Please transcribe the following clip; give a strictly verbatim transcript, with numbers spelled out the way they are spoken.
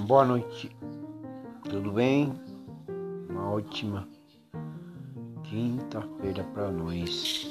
Boa noite, tudo bem? Uma ótima quinta-feira para nós.